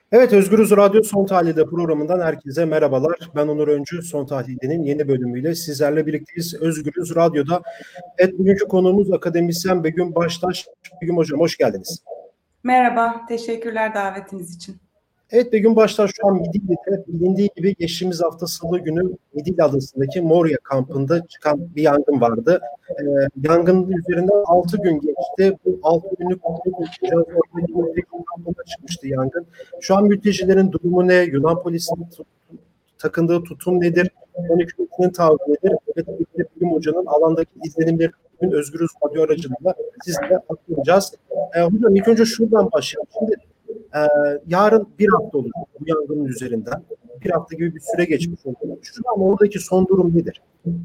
Evet, Özgürüz Radyo Son Tahlil'de programından herkese merhabalar. Ben Onur Öncü, Son Tahlil'de'nin yeni bölümüyle sizlerle birlikteyiz. Özgürüz Radyo'da. Evet, bugünkü konuğumuz akademisyen Begüm Baştaş. Begüm Hocam, hoş geldiniz. Merhaba, teşekkürler davetiniz için. Evet, Begüm Baştaş şu an Midilli'de. Bilindiği gibi geçtiğimiz hafta Salı günü Midilli Adası'ndaki Moria kampında çıkan bir yangın vardı. Yangının üzerinden 6 gün geçti. Bu 6 günlük oradaki mülteci kampında çıkmıştı yangın. Şu an mültecilerin durumu ne? Yunan polisinin takındığı tutum nedir? Yunan hükümetinin tavrı nedir? Ve tabii ki de Begüm Hoca'nın alandaki izlenimleri bugün Özgürüz Radyo aracılığıyla sizlere aktaracağız. Hocam ilk önce şuradan başlayalım. Şimdi yarın bir hafta olur bu yangının üzerinden. Bir hafta gibi bir süre geçmiş oldu. Şu an oradaki son durum nedir?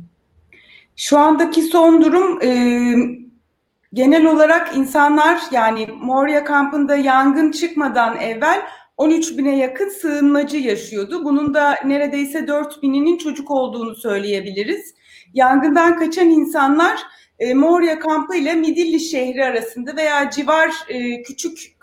Şu andaki son durum genel olarak insanlar, yani Moria kampında yangın çıkmadan evvel 13 bine yakın sığınmacı yaşıyordu. Bunun da neredeyse 4 bininin çocuk olduğunu söyleyebiliriz. Yangından kaçan insanlar Moria kampı ile Midilli şehri arasında veya civar küçük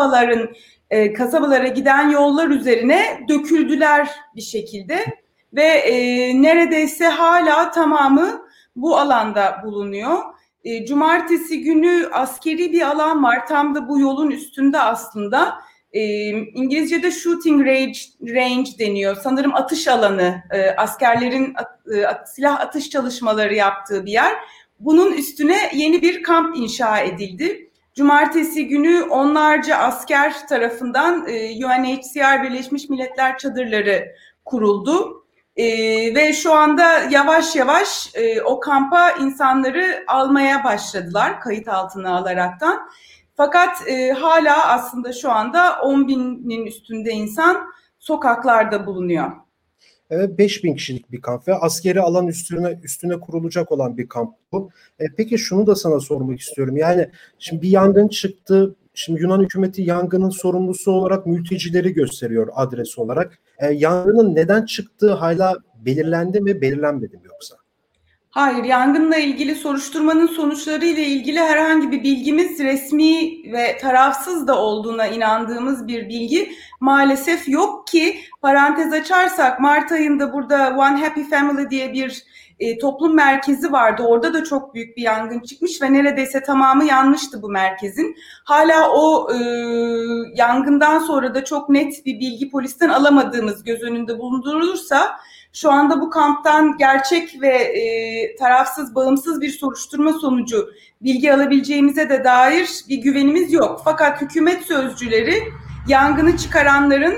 kasabalara giden yollar üzerine döküldüler bir şekilde ve neredeyse hala tamamı bu alanda bulunuyor. Cumartesi günü askeri bir alan var. Tam da bu yolun üstünde aslında. İngilizce'de shooting range deniyor. Sanırım atış alanı, askerlerin silah atış çalışmaları yaptığı bir yer. Bunun üstüne yeni bir kamp inşa edildi. Cumartesi günü onlarca asker tarafından UNHCR Birleşmiş Milletler çadırları kuruldu. Ve şu anda yavaş yavaş o kampa insanları almaya başladılar kayıt altına alaraktan. Fakat hala aslında şu anda 10 binin üstünde insan sokaklarda bulunuyor. Evet, 5.000 kişilik bir kamp ve askeri alan üstüne kurulacak olan bir kamp bu. Peki şunu da sana sormak istiyorum. Yani şimdi bir yangın çıktı. Şimdi Yunan hükümeti yangının sorumlusu olarak mültecileri gösteriyor adres olarak. Yangının neden çıktığı hala belirlendi mi, belirlenmedi mi yoksa? Hayır, yangınla ilgili soruşturmanın sonuçları ile ilgili herhangi bir bilgimiz, resmi ve tarafsız da olduğuna inandığımız bir bilgi maalesef yok ki, parantez açarsak Mart ayında burada One Happy Family diye bir toplum merkezi vardı. Orada da çok büyük bir yangın çıkmış ve neredeyse tamamı yanmıştı bu merkezin. Hala o yangından sonra da çok net bir bilgi polisten alamadığımız göz önünde bulundurulursa, şu anda bu kamptan gerçek ve tarafsız, bağımsız bir soruşturma sonucu bilgi alabileceğimize de dair bir güvenimiz yok. Fakat hükümet sözcüleri yangını çıkaranların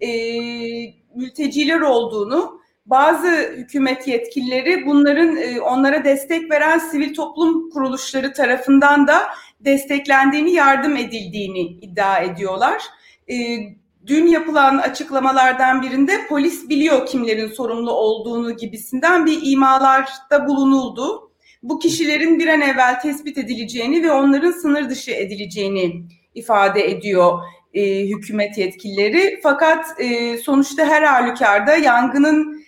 mülteciler olduğunu, bazı hükümet yetkilileri bunların onlara destek veren sivil toplum kuruluşları tarafından da desteklendiğini, yardım edildiğini iddia ediyorlar. Dün yapılan açıklamalardan birinde polis biliyor kimlerin sorumlu olduğunu gibisinden bir imalarda bulunuldu. Bu kişilerin bir an evvel tespit edileceğini ve onların sınır dışı edileceğini ifade ediyor hükümet yetkilileri. Fakat sonuçta her halükarda yangının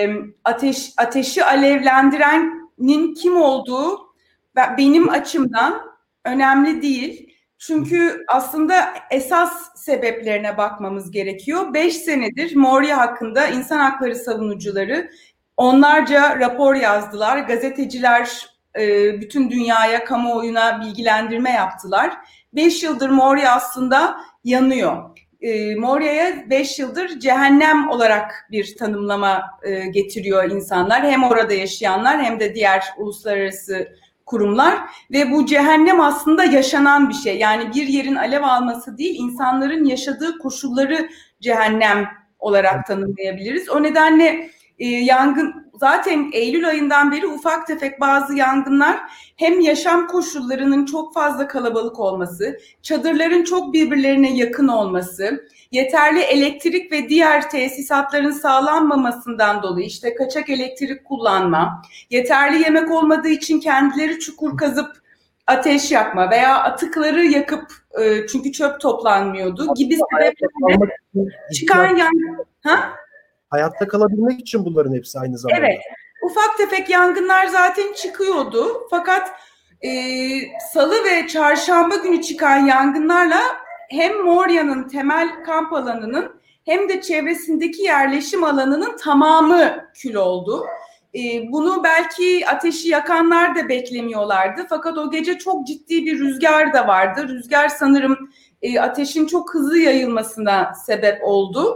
ateşi alevlendirenin kim olduğu benim açımdan önemli değil. Çünkü aslında esas sebeplerine bakmamız gerekiyor. 5 senedir Moria hakkında insan hakları savunucuları onlarca rapor yazdılar. Gazeteciler bütün dünyaya, kamuoyuna bilgilendirme yaptılar. 5 yıldır Moria aslında yanıyor. Moria'ya 5 yıldır cehennem olarak bir tanımlama getiriyor insanlar. Hem orada yaşayanlar hem de diğer uluslararası kurumlar ve bu cehennem aslında yaşanan bir şey. Yani bir yerin alev alması değil, insanların yaşadığı koşulları cehennem olarak tanımlayabiliriz. O nedenle yangın, zaten Eylül ayından beri ufak tefek bazı yangınlar, hem yaşam koşullarının çok fazla kalabalık olması, çadırların çok birbirlerine yakın olması, yeterli elektrik ve diğer tesisatların sağlanmamasından dolayı işte kaçak elektrik kullanma, yeterli yemek olmadığı için kendileri çukur kazıp ateş yakma veya atıkları yakıp çünkü çöp toplanmıyordu gibi sebeplerle çıkan yangın. Hayatta kalabilmek için bunların hepsi aynı zamanda. Evet, ufak tefek yangınlar zaten çıkıyordu. Fakat salı ve çarşamba günü çıkan yangınlarla hem Moria'nın temel kamp alanının hem de çevresindeki yerleşim alanının tamamı kül oldu. Bunu belki ateşi yakanlar da beklemiyorlardı. Fakat o gece çok ciddi bir rüzgar da vardı. Rüzgar sanırım ateşin çok hızlı yayılmasına sebep oldu.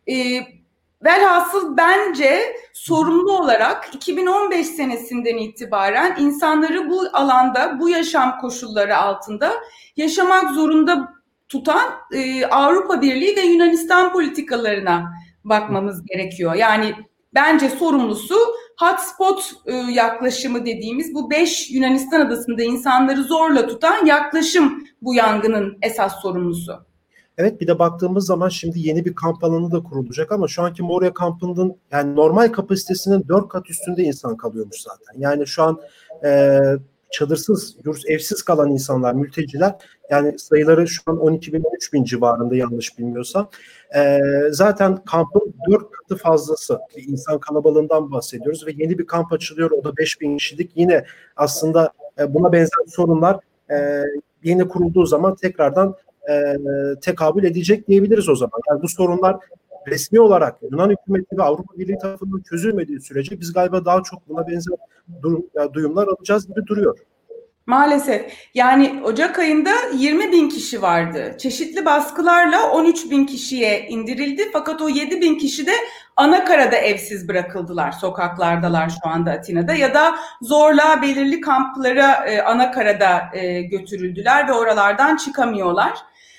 Velhasıl bence sorumlu olarak 2015 senesinden itibaren insanları bu alanda, bu yaşam koşulları altında yaşamak zorunda tutan Avrupa Birliği ve Yunanistan politikalarına bakmamız gerekiyor. Yani bence sorumlusu hotspot yaklaşımı dediğimiz bu 5 Yunanistan adasında insanları zorla tutan yaklaşım bu yangının esas sorumlusu. Evet, bir de baktığımız zaman şimdi yeni bir kamp alanı da kurulacak ama şu anki Moria kampının yani normal kapasitesinin 4 kat üstünde insan kalıyormuş zaten. Yani şu an çadırsız, evsiz kalan insanlar, mülteciler, yani sayıları şu an 12 bin, 13 bin civarında yanlış bilmiyorsam. Zaten kampın 4 katı fazlası bir insan kalabalığından bahsediyoruz ve yeni bir kamp açılıyor. O da 5 bin kişilik. Yine aslında buna benzer sorunlar yeni kurulduğu zaman tekrardan tekabül edecek diyebiliriz o zaman. Yani bu sorunlar resmi olarak Yunan hükümeti ve Avrupa Birliği tarafından çözülmediği sürece biz galiba daha çok buna benzer duyumlar alacağız gibi duruyor. Maalesef. Yani Ocak ayında 20 bin kişi vardı. Çeşitli baskılarla 13 bin kişiye indirildi. Fakat o 7 bin kişi de anakarada evsiz bırakıldılar. Sokaklardalar şu anda Atina'da ya da zorla belirli kamplara anakarada götürüldüler ve oralardan çıkamıyorlar.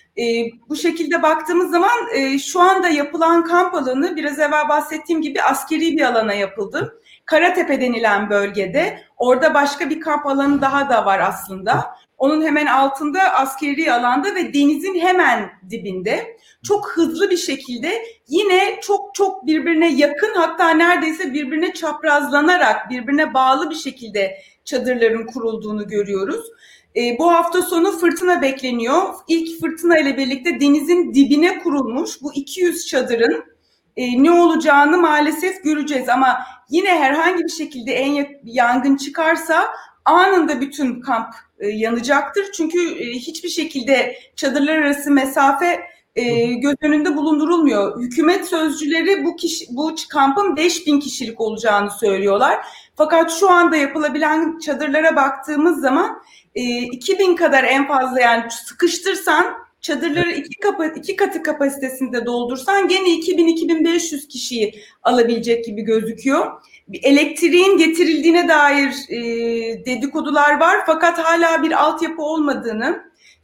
Bu şekilde baktığımız zaman şu anda yapılan kamp alanı biraz evvel bahsettiğim gibi askeri bir alana yapıldı. Karatepe denilen bölgede, orada başka bir kamp alanı daha da var aslında. Onun hemen altında askeri alanda ve denizin hemen dibinde çok hızlı bir şekilde yine çok birbirine yakın, hatta neredeyse birbirine çaprazlanarak birbirine bağlı bir şekilde çadırların kurulduğunu görüyoruz. Bu hafta sonu fırtına bekleniyor. İlk fırtına ile birlikte denizin dibine kurulmuş bu 200 çadırın ne olacağını maalesef göreceğiz. Ama yine herhangi bir şekilde yangın çıkarsa anında bütün kamp yanacaktır. Çünkü hiçbir şekilde çadırlar arası mesafe göz önünde bulundurulmuyor. Hükümet sözcüleri bu kampın 5.000 kişilik olacağını söylüyorlar. Fakat şu anda yapılabilen çadırlara baktığımız zaman 2.000 kadar en fazla, yani sıkıştırsan çadırları iki katı kapasitesinde doldursan gene 2000-2500 kişiyi alabilecek gibi gözüküyor. Elektriğin getirildiğine dair dedikodular var fakat hala bir altyapı olmadığını,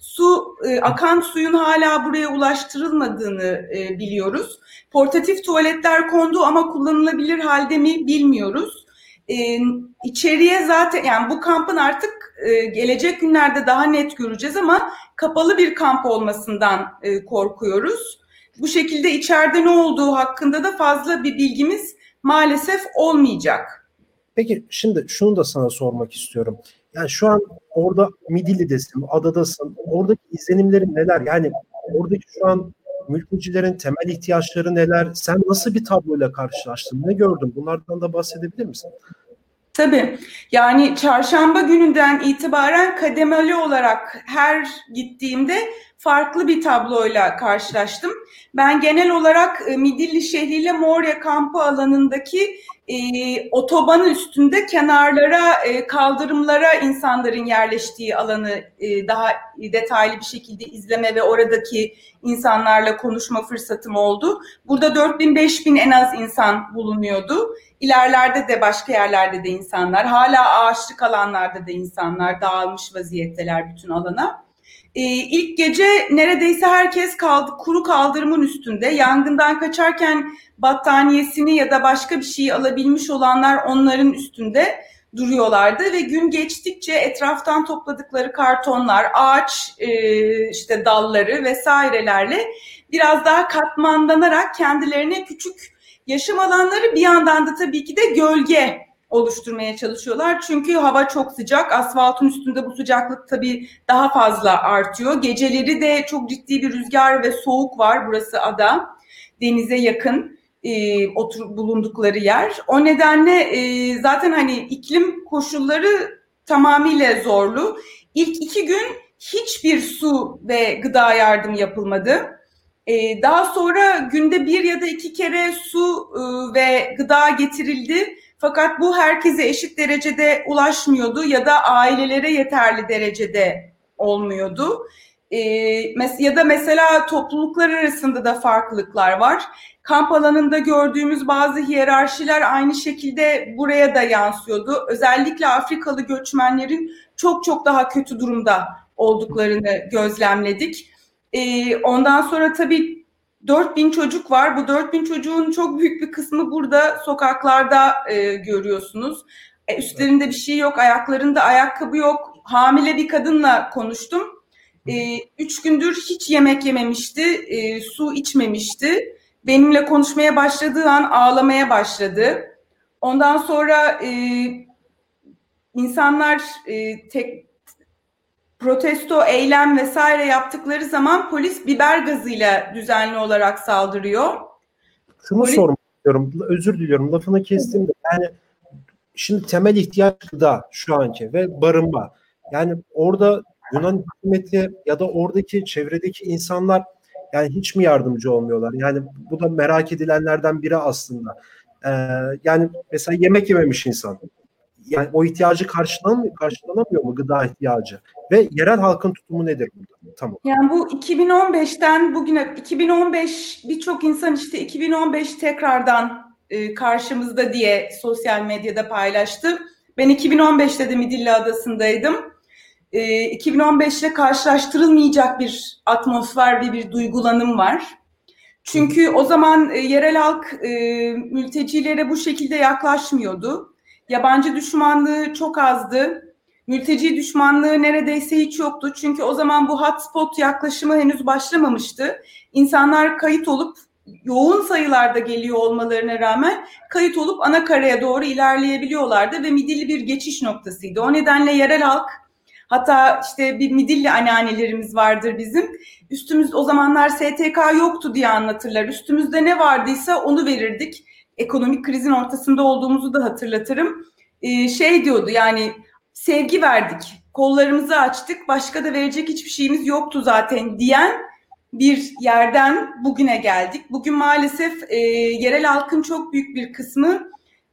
akan suyun hala buraya ulaştırılmadığını biliyoruz. Portatif tuvaletler kondu ama kullanılabilir halde mi bilmiyoruz. İçeriye zaten, yani bu kampın artık gelecek günlerde daha net göreceğiz ama kapalı bir kamp olmasından korkuyoruz. Bu şekilde içeride ne olduğu hakkında da fazla bir bilgimiz maalesef olmayacak. Peki şimdi şunu da sana sormak istiyorum. Yani şu an orada Midilli'desin, adadasın. Oradaki izlenimlerin neler? Yani oradaki şu an mültecilerin temel ihtiyaçları neler? Sen nasıl bir tabloyla karşılaştın? Ne gördün? Bunlardan da bahsedebilir misin? Tabii. Yani çarşamba gününden itibaren kademeli olarak her gittiğimde farklı bir tabloyla karşılaştım. Ben genel olarak Midilli şehriyle Moria kampı alanındaki otobanın üstünde kenarlara, kaldırımlara insanların yerleştiği alanı daha detaylı bir şekilde izleme ve oradaki insanlarla konuşma fırsatım oldu. Burada 4000-5000 en az insan bulunuyordu. İlerlerde de başka yerlerde de insanlar, hala ağaçlık alanlarda da insanlar dağılmış vaziyetteler bütün alana. İlk gece neredeyse herkes kuru kaldırımın üstünde. Yangından kaçarken battaniyesini ya da başka bir şeyi alabilmiş olanlar onların üstünde duruyorlardı ve gün geçtikçe etraftan topladıkları kartonlar, ağaç işte dalları vesairelerle biraz daha katmanlanarak kendilerine küçük yaşam alanları, bir yandan da tabii ki de gölge oluşturmaya çalışıyorlar. Çünkü hava çok sıcak. Asfaltın üstünde bu sıcaklık tabii daha fazla artıyor. Geceleri de çok ciddi bir rüzgar ve soğuk var. Burası ada. Denize yakın bulundukları yer. O nedenle zaten hani iklim koşulları tamamıyla zorlu. İlk 2 gün hiçbir su ve gıda yardım yapılmadı. Daha sonra günde 1 ya da 2 kere su ve gıda getirildi. Fakat bu herkese eşit derecede ulaşmıyordu ya da ailelere yeterli derecede olmuyordu. Ya da mesela topluluklar arasında da farklılıklar var. Kamp alanında gördüğümüz bazı hiyerarşiler aynı şekilde buraya da yansıyordu. Özellikle Afrikalı göçmenlerin çok çok daha kötü durumda olduklarını gözlemledik. Ondan sonra tabii 4000 çocuk var. Bu 4000 çocuğun çok büyük bir kısmı burada sokaklarda görüyorsunuz. Üstlerinde bir şey yok, ayaklarında ayakkabı yok. Hamile bir kadınla konuştum. 3 gündür hiç yemek yememişti, su içmemişti. Benimle konuşmaya başladığı an ağlamaya başladı. Ondan sonra insanlar protesto, eylem vesaire yaptıkları zaman polis biber gazıyla düzenli olarak saldırıyor. Şunu sormak istiyorum, özür diliyorum lafını kestim de, yani şimdi temel ihtiyaç gıda şu anki ve barınma. Yani orada Yunan hükümeti ya da oradaki çevredeki insanlar yani hiç mi yardımcı olmuyorlar? Yani bu da merak edilenlerden biri aslında. Yani mesela yemek yememiş insan. Yani o ihtiyacı karşılanamıyor mu, gıda ihtiyacı? Ve yerel halkın tutumu nedir burada? Tamam. Yani bu 2015'ten bugüne, 2015 birçok insan işte 2015 tekrardan karşımızda diye sosyal medyada paylaştı. Ben 2015'te de Midilli Adası'ndaydım. 2015 ile karşılaştırılmayacak bir atmosfer ve bir duygulanım var. Çünkü o zaman yerel halk mültecilere bu şekilde yaklaşmıyordu. Yabancı düşmanlığı çok azdı. Mülteci düşmanlığı neredeyse hiç yoktu. Çünkü o zaman bu hotspot yaklaşımı henüz başlamamıştı. İnsanlar kayıt olup yoğun sayılarda geliyor olmalarına rağmen kayıt olup ana karaya doğru ilerleyebiliyorlardı ve Midilli bir geçiş noktasıydı. O nedenle yerel halk, hatta işte bir Midilli anneannelerimiz vardır bizim. Üstümüz o zamanlar STK yoktu diye anlatırlar. Üstümüzde ne vardıysa onu verirdik. Ekonomik krizin ortasında olduğumuzu da hatırlatırım. Şey diyordu, yani sevgi verdik, kollarımızı açtık, başka da verecek hiçbir şeyimiz yoktu zaten diyen bir yerden bugüne geldik. Bugün maalesef yerel halkın çok büyük bir kısmı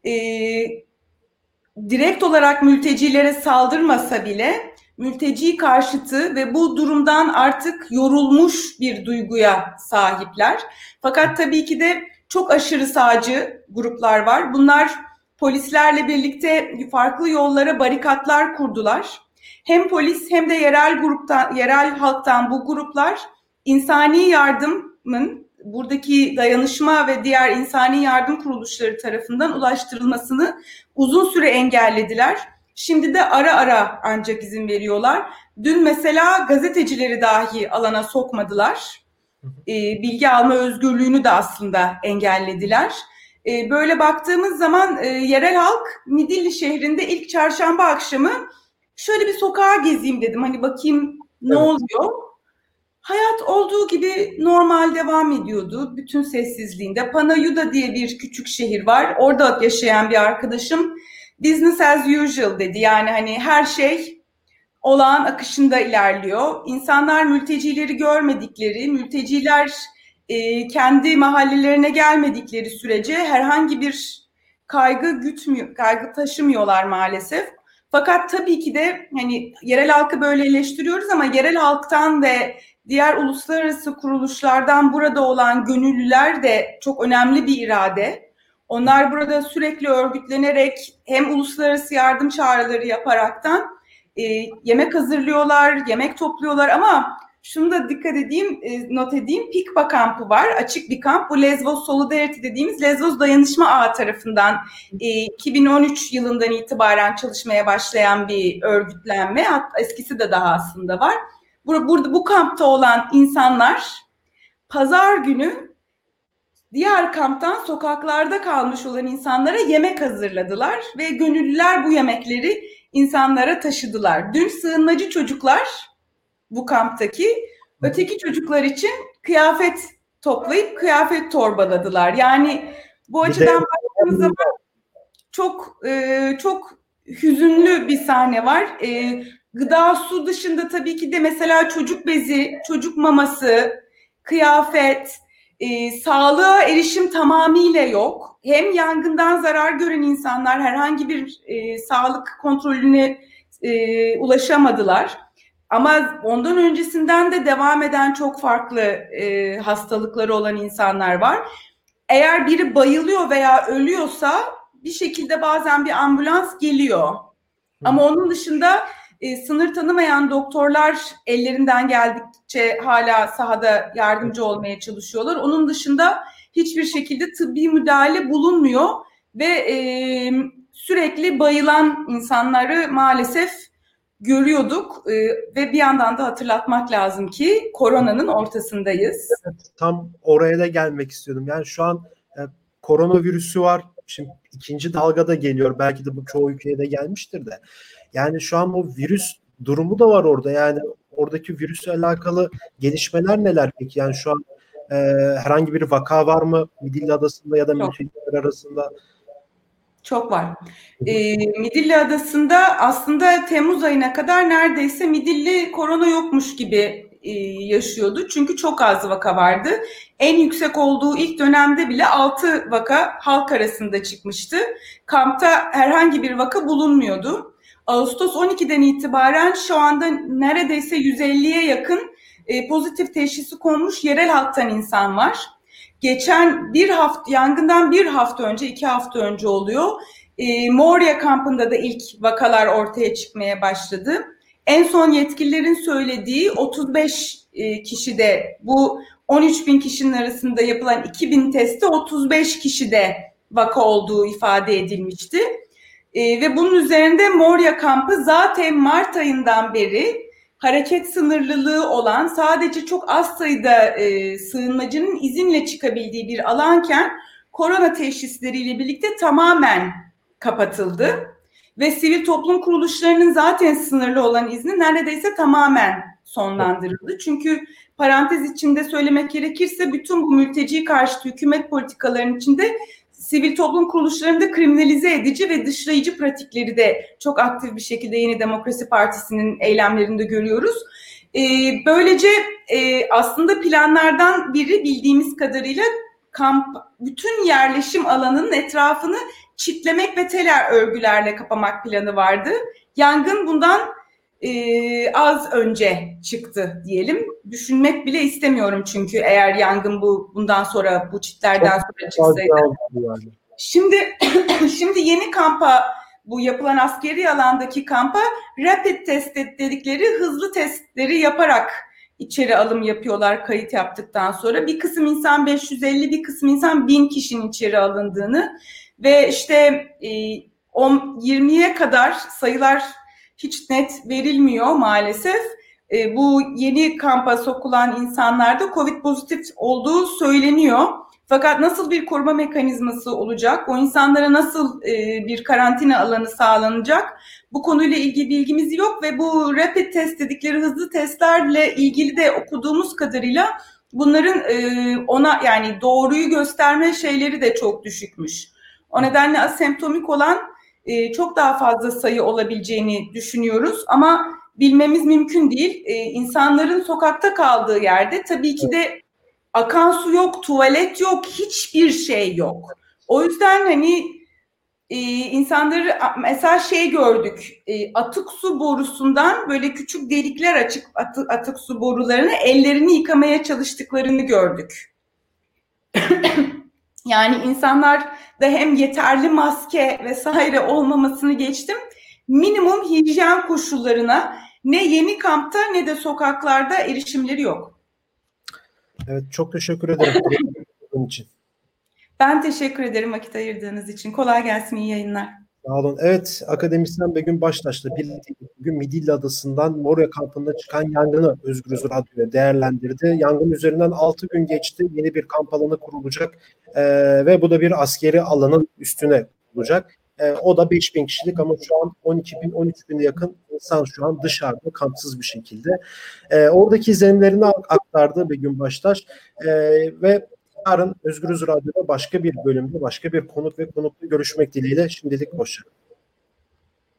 direkt olarak mültecilere saldırmasa bile mülteci karşıtı ve bu durumdan artık yorulmuş bir duyguya sahipler. Fakat tabii ki de çok aşırı sağcı gruplar var. Bunlar polislerle birlikte farklı yollara barikatlar kurdular. Hem polis hem de yerel halktan bu gruplar insani yardımın, buradaki dayanışma ve diğer insani yardım kuruluşları tarafından ulaştırılmasını uzun süre engellediler. Şimdi de ara ara ancak izin veriyorlar. Dün mesela gazetecileri dahi alana sokmadılar. Bilgi alma özgürlüğünü de aslında engellediler. Böyle baktığımız zaman yerel halk Midilli şehrinde ilk çarşamba akşamı şöyle bir sokağa gezeyim dedim. Hani bakayım ne oluyor. Hayat olduğu gibi normal devam ediyordu. Bütün sessizliğinde. Panayuda diye bir küçük şehir var. Orada yaşayan bir arkadaşım business as usual dedi. Yani hani her şey olağan akışında ilerliyor. İnsanlar mültecileri görmedikleri, mülteciler kendi mahallelerine gelmedikleri sürece herhangi bir kaygı taşımıyorlar maalesef. Fakat tabii ki de hani yerel halkı böyle eleştiriyoruz ama yerel halktan ve diğer uluslararası kuruluşlardan burada olan gönüllüler de çok önemli bir irade. Onlar burada sürekli örgütlenerek hem uluslararası yardım çağrıları yaparaktan yemek hazırlıyorlar, yemek topluyorlar ama şunu da dikkat edeyim, not edeyim. Pikpa kampı var, açık bir kamp. Bu Lesvos Solidarity dediğimiz Lesvos Dayanışma Ağı tarafından 2013 yılından itibaren çalışmaya başlayan bir örgütlenme. Hatta eskisi de daha aslında var. Burada bu kampta olan insanlar pazar günü diğer kamptan sokaklarda kalmış olan insanlara yemek hazırladılar ve gönüllüler bu yemekleri insanlara taşıdılar. Dün sığınmacı çocuklar bu kamptaki öteki çocuklar için kıyafet toplayıp kıyafet torbaladılar. Yani bu açıdan baktığımız zaman çok hüzünlü bir sahne var. Gıda, su dışında tabii ki de mesela çocuk bezi, çocuk maması, kıyafet, sağlığa erişim tamamıyla yok. Hem yangından zarar gören insanlar herhangi bir sağlık kontrolüne ulaşamadılar. Ama ondan öncesinden de devam eden çok farklı hastalıkları olan insanlar var. Eğer biri bayılıyor veya ölüyorsa bir şekilde bazen bir ambulans geliyor. Ama onun dışında sınır tanımayan doktorlar ellerinden geldikçe hala sahada yardımcı olmaya çalışıyorlar. Onun dışında hiçbir şekilde tıbbi müdahale bulunmuyor ve sürekli bayılan insanları maalesef görüyorduk ve bir yandan da hatırlatmak lazım ki koronanın ortasındayız. Evet, tam oraya da gelmek istiyordum. Yani şu an koronavirüsü var. Şimdi ikinci dalga da geliyor. Belki de bu çoğu ülkeye de gelmiştir de. Yani şu an bu virüs durumu da var orada. Yani oradaki virüsle alakalı gelişmeler neler peki? Yani şu an herhangi bir vaka var mı Midilli Adası'nda ya da mülteciler arasında? Çok var. Midilli Adası'nda aslında Temmuz ayına kadar neredeyse Midilli korona yokmuş gibi yaşıyordu. Çünkü çok az vaka vardı. En yüksek olduğu ilk dönemde bile 6 vaka halk arasında çıkmıştı. Kampta herhangi bir vaka bulunmuyordu. Ağustos 12'den itibaren şu anda neredeyse 150'ye yakın pozitif teşhisi konmuş yerel halktan insan var. Geçen yangından bir hafta önce, 2 hafta önce oluyor. Moria kampında da ilk vakalar ortaya çıkmaya başladı. En son yetkililerin söylediği 35 kişide, bu 13 bin kişinin arasında yapılan 2.000 testte 35 kişide vaka olduğu ifade edilmişti. Ve bunun üzerinde Moria kampı zaten Mart ayından beri hareket sınırlılığı olan, sadece çok az sayıda sığınmacının izinle çıkabildiği bir alanken korona teşhisleriyle birlikte tamamen kapatıldı. Ve sivil toplum kuruluşlarının zaten sınırlı olan izni neredeyse tamamen sonlandırıldı. Çünkü parantez içinde söylemek gerekirse bütün bu mülteci karşıtı hükümet politikalarının içinde sivil toplum kuruluşlarında kriminalize edici ve dışlayıcı pratikleri de çok aktif bir şekilde Yeni Demokrasi Partisi'nin eylemlerinde görüyoruz. Böylece aslında planlardan biri bildiğimiz kadarıyla bütün yerleşim alanının etrafını çitlemek ve tel örgülerle kapamak planı vardı. Yangın bundan az önce çıktı diyelim. Düşünmek bile istemiyorum çünkü eğer yangın bundan sonra bu çitlerden sonra çıksaydı. Yani. Şimdi yeni kampa, bu yapılan askeri alandaki kampa rapid test dedikleri hızlı testleri yaparak içeri alım yapıyorlar kayıt yaptıktan sonra. Bir kısım insan 550, bir kısım insan 1000 kişinin içeri alındığını ve işte 20'ye kadar sayılar hiç net verilmiyor maalesef. Bu yeni kampa sokulan insanlarda COVID pozitif olduğu söyleniyor. Fakat nasıl bir koruma mekanizması olacak? O insanlara nasıl bir karantina alanı sağlanacak? Bu konuyla ilgili bilgimiz yok ve bu rapid test dedikleri hızlı testlerle ilgili de okuduğumuz kadarıyla bunların ona, yani doğruyu gösterme şeyleri de çok düşükmüş. O nedenle asemptomik olan çok daha fazla sayı olabileceğini düşünüyoruz ama bilmemiz mümkün değil. İnsanların sokakta kaldığı yerde tabii ki de akan su yok, tuvalet yok, hiçbir şey yok. O yüzden hani insanları mesela gördük, atık su borusundan böyle küçük delikler açık atık su borularını ellerini yıkamaya çalıştıklarını gördük. Yani insanlar da hem yeterli maske vesaire olmamasını geçtim, minimum hijyen koşullarına ne yeni kampta ne de sokaklarda erişimleri yok. Evet, çok teşekkür ederim bunun için. Ben teşekkür ederim vakit ayırdığınız için. Kolay gelsin, iyi yayınlar. Sağ olun. Evet, akademisyen Begüm Baştaş'la birlikte bugün Midilli Adası'ndan Moria kampında çıkan yangını Özgürüz Radyo'ya değerlendirdi. Yangın üzerinden 6 gün geçti. Yeni bir kamp alanı kurulacak ve bu da bir askeri alanın üstüne kurulacak. O da 5.000 kişilik ama şu an 12.000-13.000'e yakın insan şu an dışarıda kampsız bir şekilde. Oradaki izlenimlerini aktardı Begüm Baştaş ve yarın Özgürüz Radyo'da başka bir bölümde başka bir konuk ve konukla görüşmek dileğiyle şimdilik hoşça kalın.